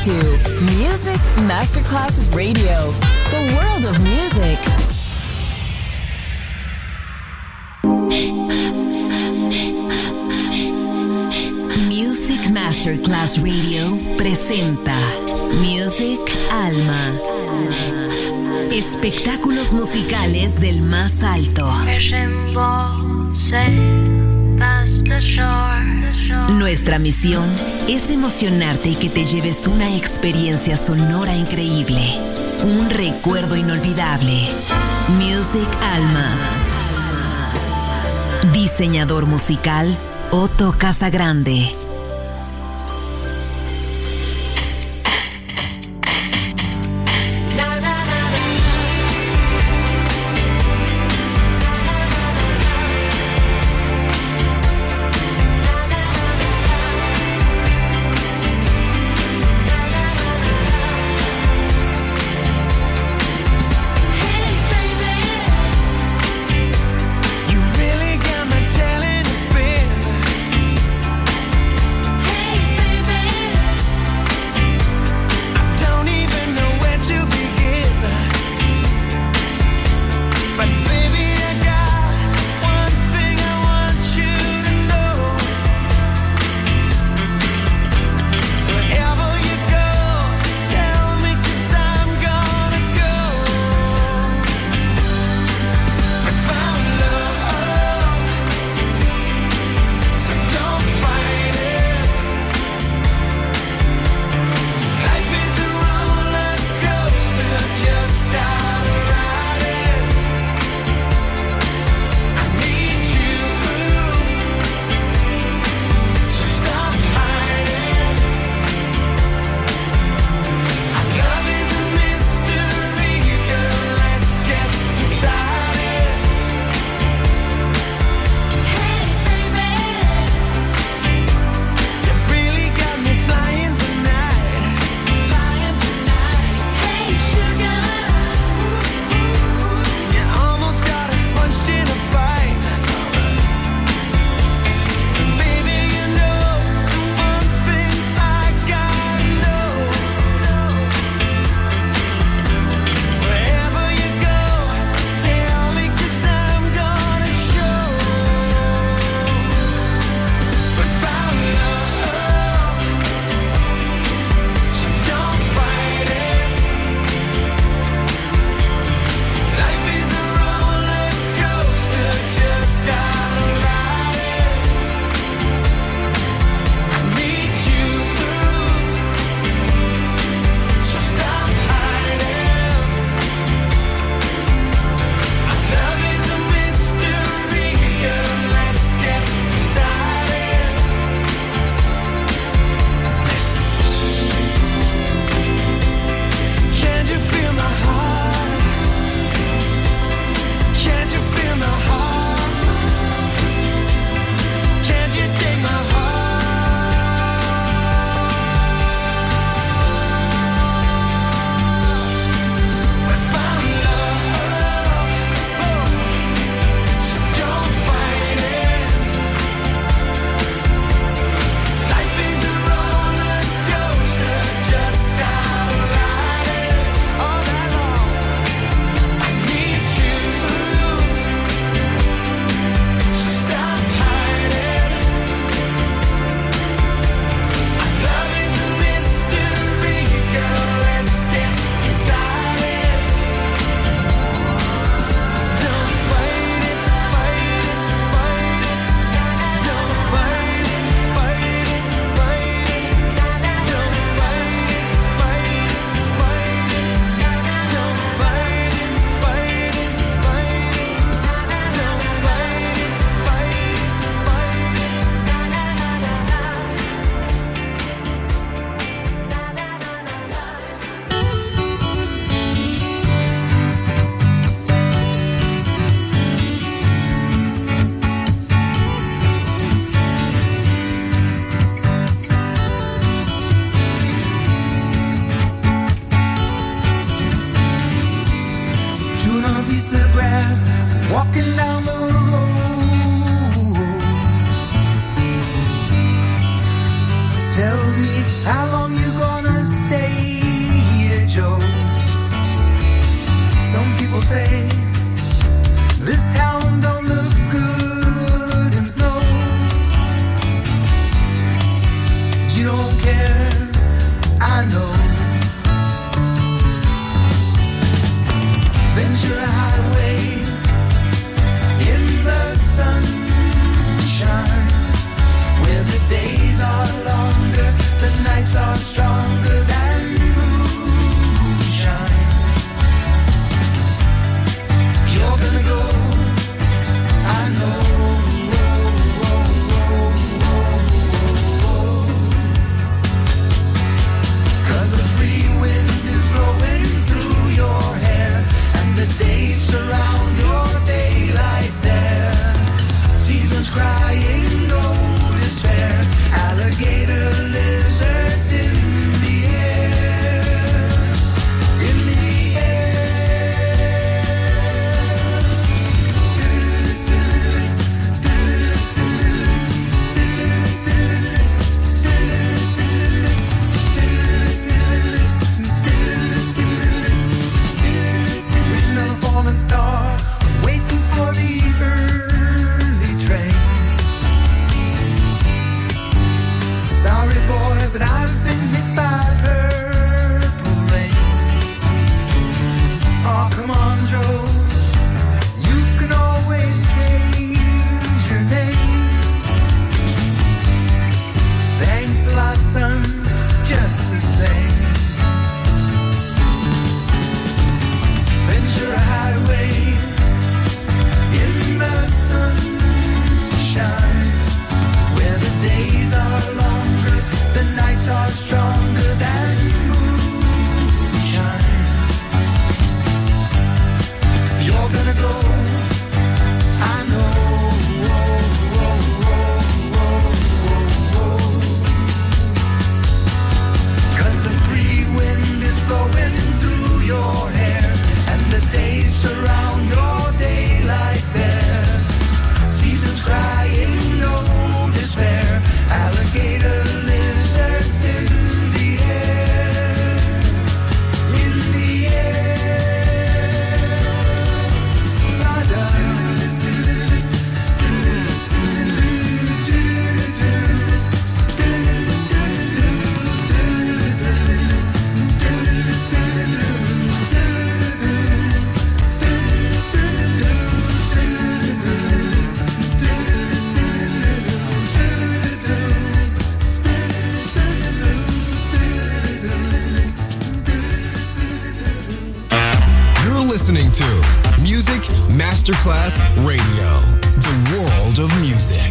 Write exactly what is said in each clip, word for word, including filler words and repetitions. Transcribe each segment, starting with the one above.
to Music Masterclass Radio, the world of music. Music Masterclass Radio presenta Music Alma. Espectáculos musicales del más alto. Nuestra misión es emocionarte y que te lleves una experiencia sonora increíble, un recuerdo inolvidable. Music Alma. Diseñador musical Otto Casagrande. walking down the road. Tell me how long you gonna stay. don't care, I know. Ventura Highway in the sunshine, where the days are longer, the nights are stronger than moonshine. You're gonna go, I know. Cause the free wind is blowing through your hair, and the days surround your daylight there. Seasons crying, no despair, alligator lizards in the air, in the wishing on a falling star, waiting for the early train. Sorry boy, but I've been hit by purple rain. Oh, come on, Joe, you can always change your name. Thanks a lot, son, just the same. Ventura Highway in the sunshine, where the days are longer, the nights are stronger than moonshine. You're gonna go, I know. Cause the free wind is blowing through your hair, and the days surround your daylight there. Seasons crying, no despair, alligator lizards in the air, in the air. La-da. You're listening to Music Masterclass Radio, the world of music.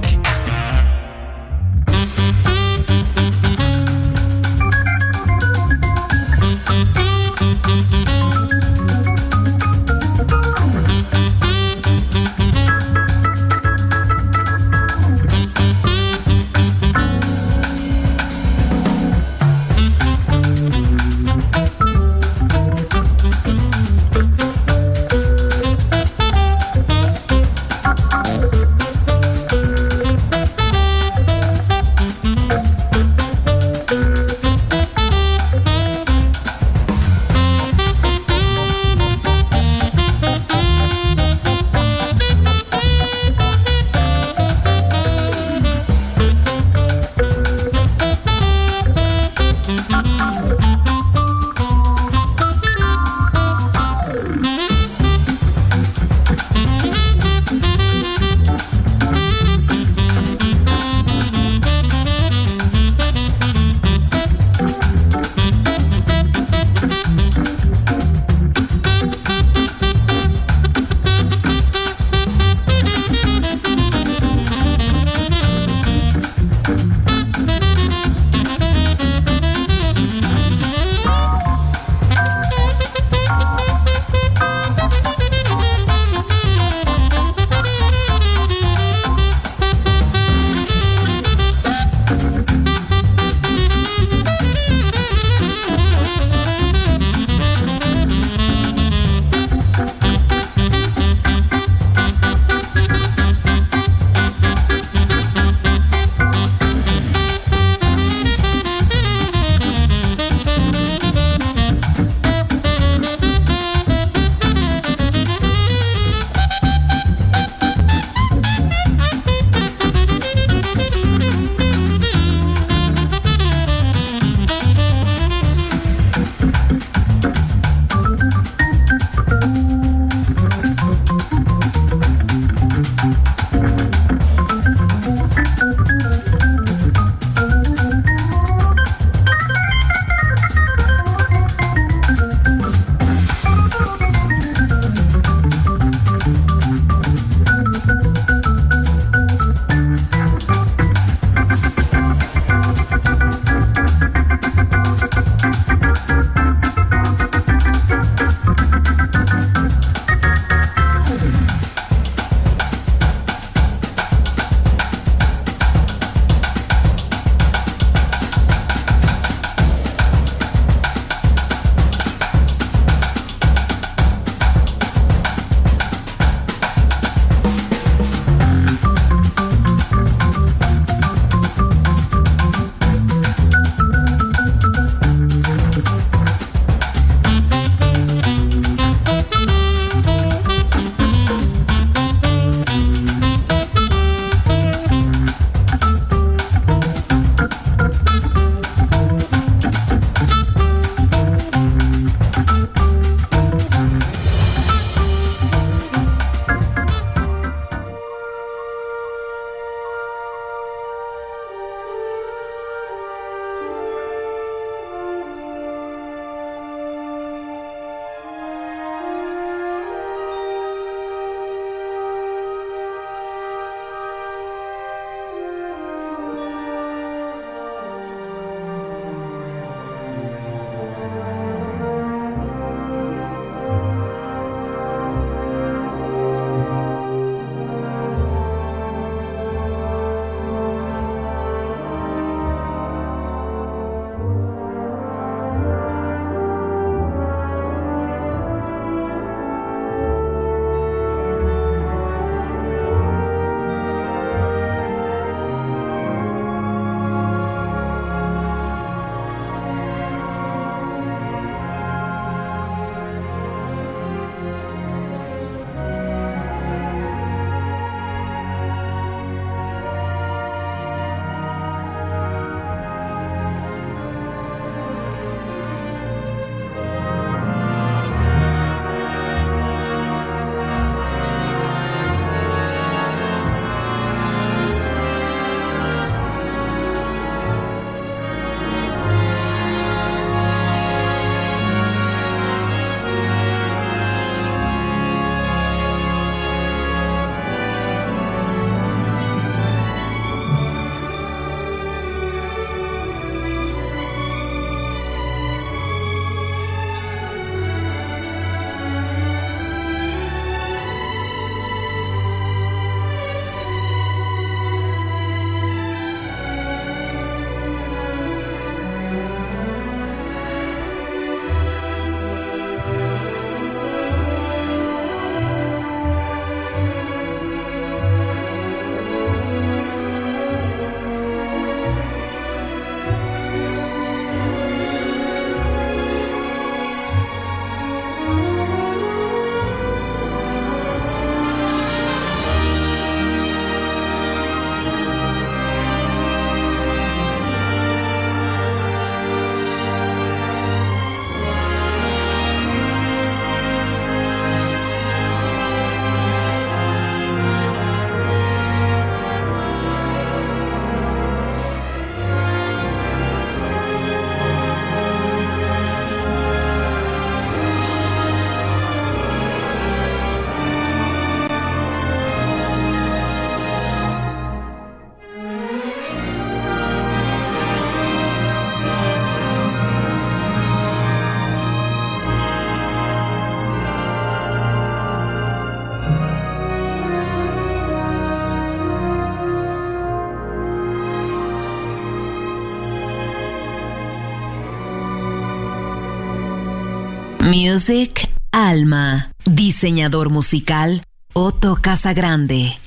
Music Alma. Diseñador musical Otto Casagrande.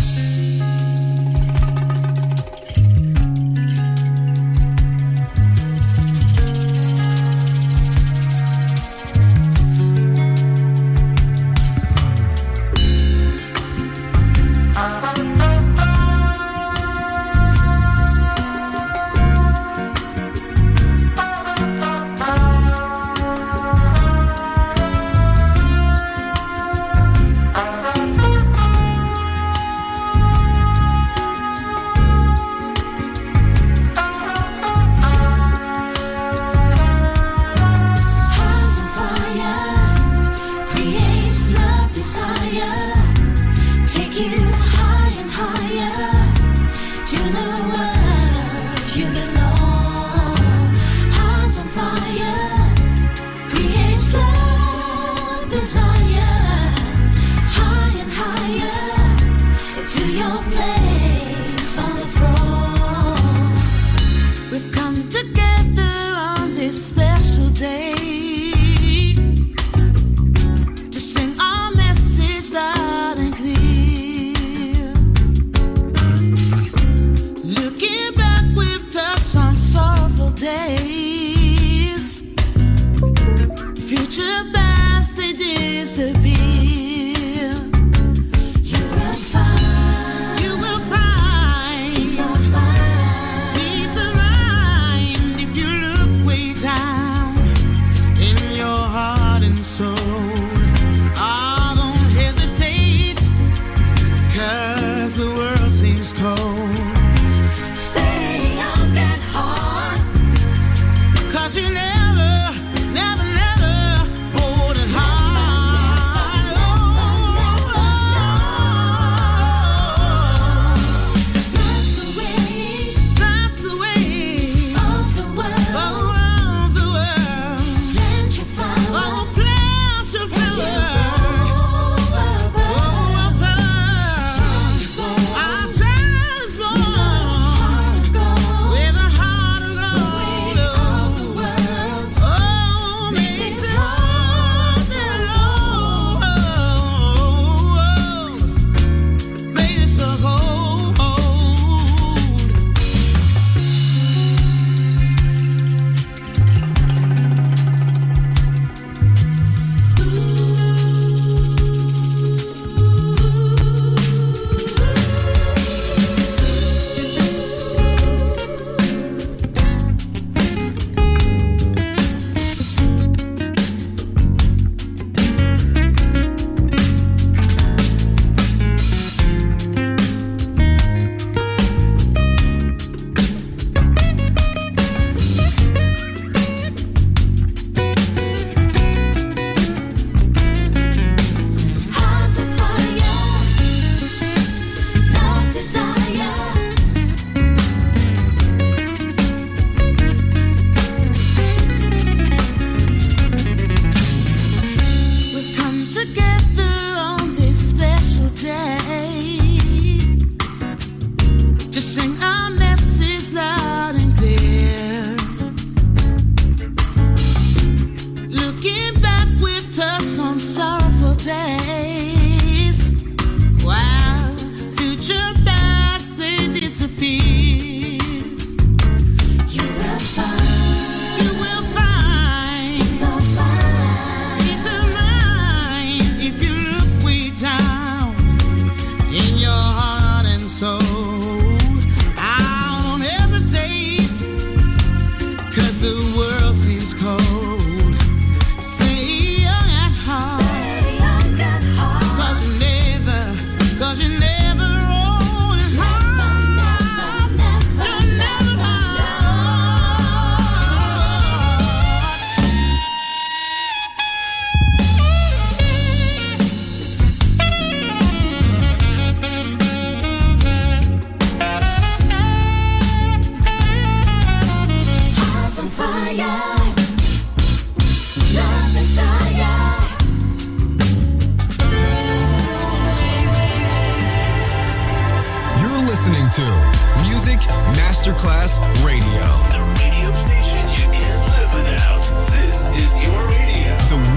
listening to Music Masterclass Radio. The radio station you can't live without. This is your radio. The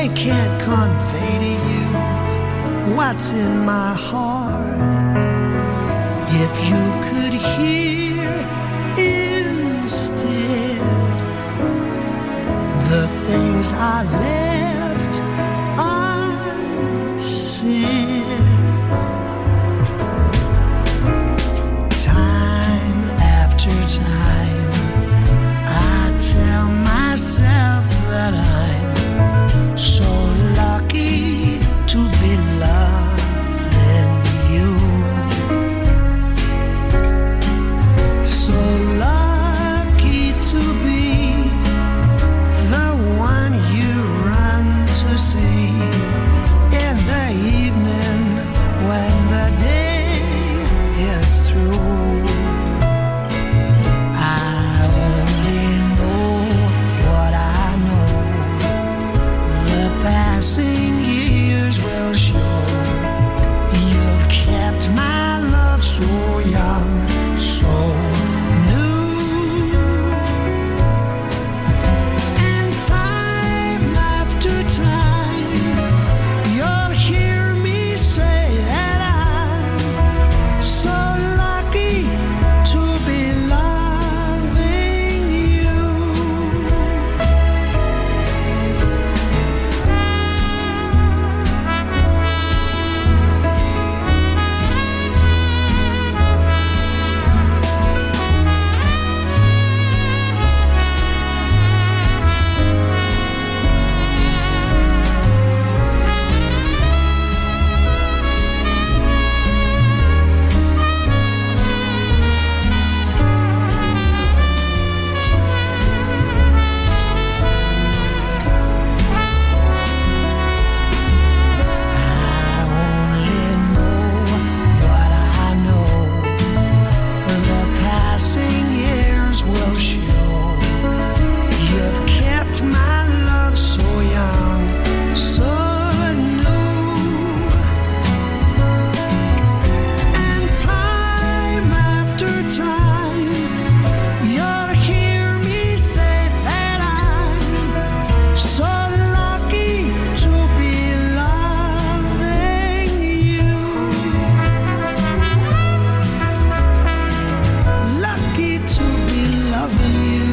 they can't convey to you what's in my heart. If you could hear instead the things I left unsaid. Time after time I tell myself that I'm so lucky to be loving you, so lucky to be the one you run to see in the evening when the day is through. I only know what I know. The passing years will show. You've kept my love so young, so new. And time after time, you'll hear me say that I'm so lucky to be loving you. I only know what I know. The passing years will show. You've kept my love so young, so new. And time after time, you'll hear me say that I'm so lucky to be loving you. Lucky to be loving you.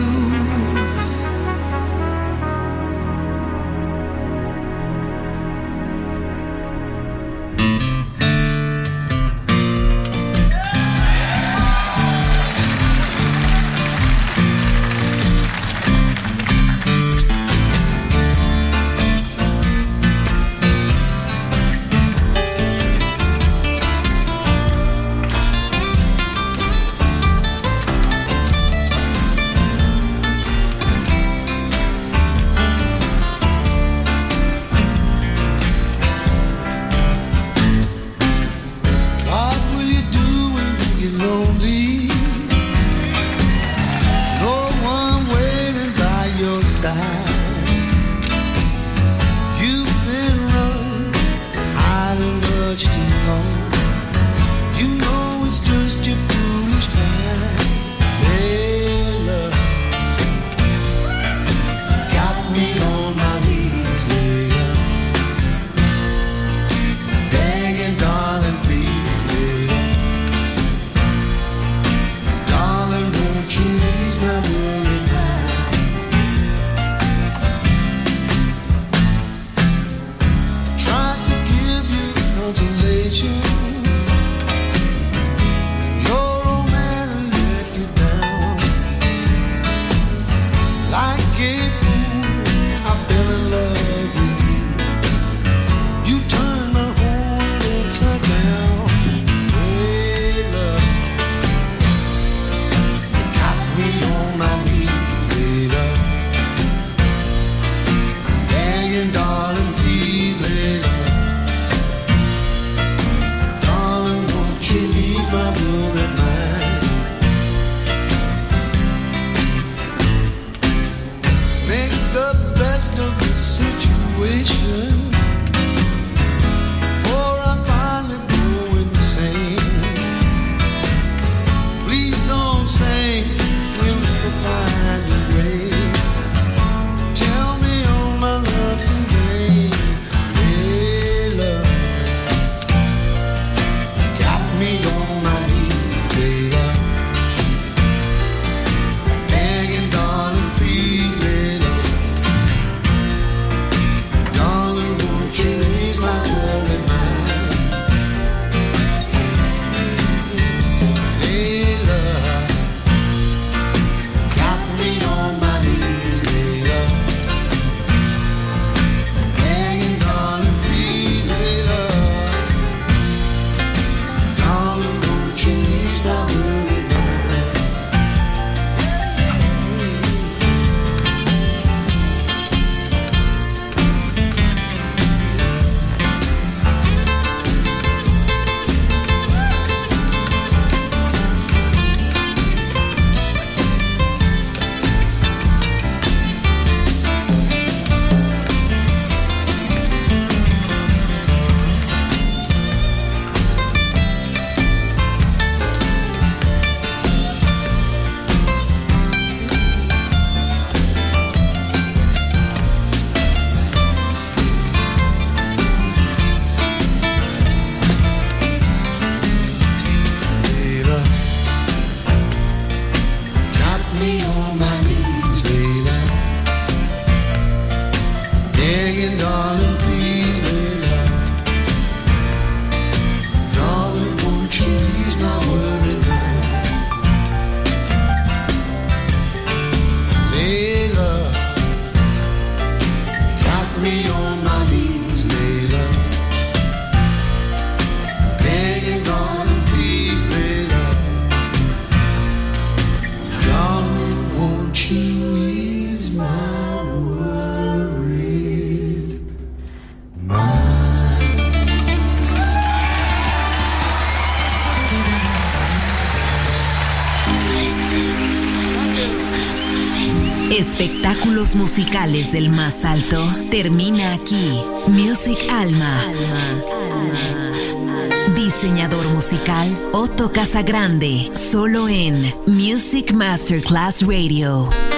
What will you do when you get lonely? No one waiting by your side. You've been running, hiding much too long. You know it's just your foolish pride. Hey, love, got me on my knees, lady. Begging, darling, please, darling, won't you ease my worried mind? Tried to give you consolation. Your old man let you down. Like a fool, I begging, darling, please, Layla. Darling, won't you ease my worry now? Layla, got me on my knees, Layla. Begging, darling, please, Layla. Darling, won't you ease my worried mind? Espectáculos musicales del más alto termina aquí. Music Alma. Diseñador musical Otto Casagrande, solo en Music Masterclass Radio.